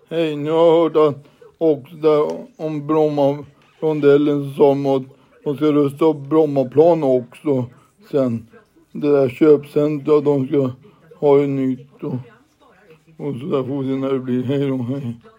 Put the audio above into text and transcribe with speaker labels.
Speaker 1: Hej, nu har jag hört att också där om Bromma-rondellen så sa de att de ska rusta upp Brommaplan också sen. Det där köpcentret de ska ha ju nytt och så där får vi se när det blir. Hej då, hej.